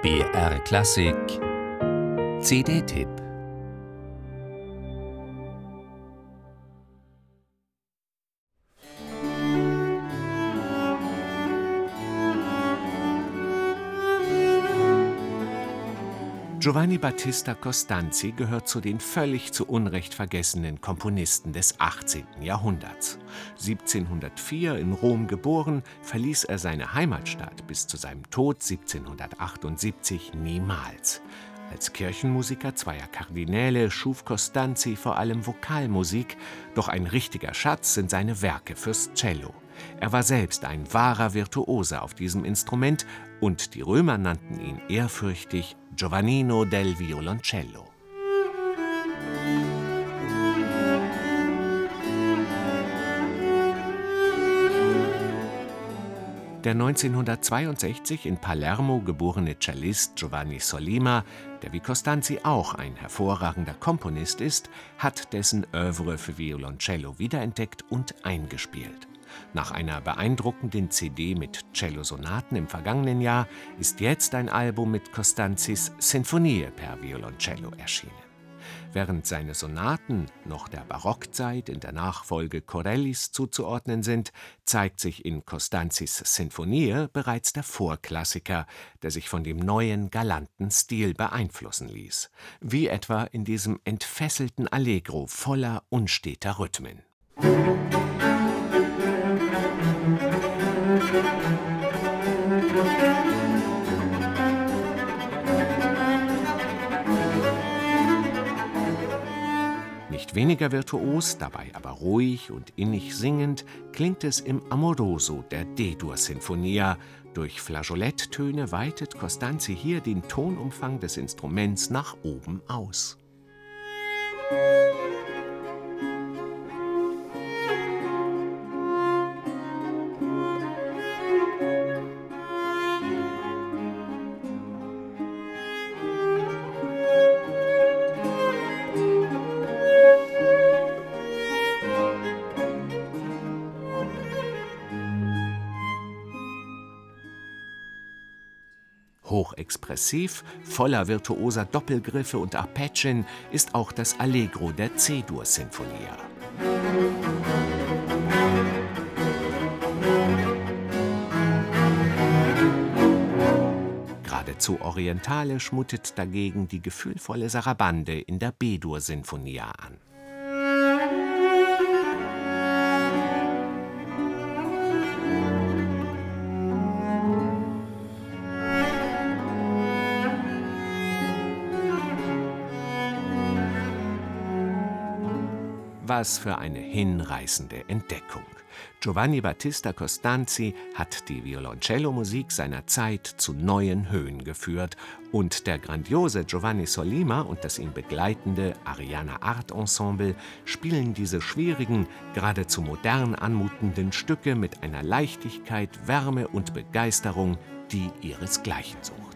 BR Klassik CD-Tipp. Giovanni Battista Costanzi gehört zu den völlig zu Unrecht vergessenen Komponisten des 18. Jahrhunderts. 1704 in Rom geboren, verließ er seine Heimatstadt bis zu seinem Tod 1778 niemals. Als Kirchenmusiker zweier Kardinäle schuf Costanzi vor allem Vokalmusik, doch ein richtiger Schatz sind seine Werke fürs Cello. Er war selbst ein wahrer Virtuose auf diesem Instrument und die Römer nannten ihn ehrfürchtig Giovannino del Violoncello. Der 1962 in Palermo geborene Cellist Giovanni Sollima, der wie Costanzi auch ein hervorragender Komponist ist, hat dessen Œuvre für Violoncello wiederentdeckt und eingespielt. Nach einer beeindruckenden CD mit Cellosonaten im vergangenen Jahr ist jetzt ein Album mit Costanzis Sinfonie per Violoncello erschienen. Während seine Sonaten noch der Barockzeit in der Nachfolge Corellis zuzuordnen sind, zeigt sich in Costanzis Sinfonie bereits der Vorklassiker, der sich von dem neuen, galanten Stil beeinflussen ließ. Wie etwa in diesem entfesselten Allegro voller unsteter Rhythmen. Nicht weniger virtuos, dabei aber ruhig und innig singend, klingt es im Amoroso der D-Dur-Sinfonia. Durch Flageoletttöne weitet Costanzi hier den Tonumfang des Instruments nach oben aus. Hochexpressiv, voller virtuoser Doppelgriffe und Arpeggien ist auch das Allegro der C-Dur-Sinfonia. Geradezu orientalisch mutet dagegen die gefühlvolle Sarabande in der B-Dur-Sinfonia an. Was für eine hinreißende Entdeckung! Giovanni Battista Costanzi hat die Violoncello-Musik seiner Zeit zu neuen Höhen geführt und der grandiose Giovanni Sollima und das ihn begleitende Ariana Art Ensemble spielen diese schwierigen, geradezu modern anmutenden Stücke mit einer Leichtigkeit, Wärme und Begeisterung, die ihresgleichen sucht.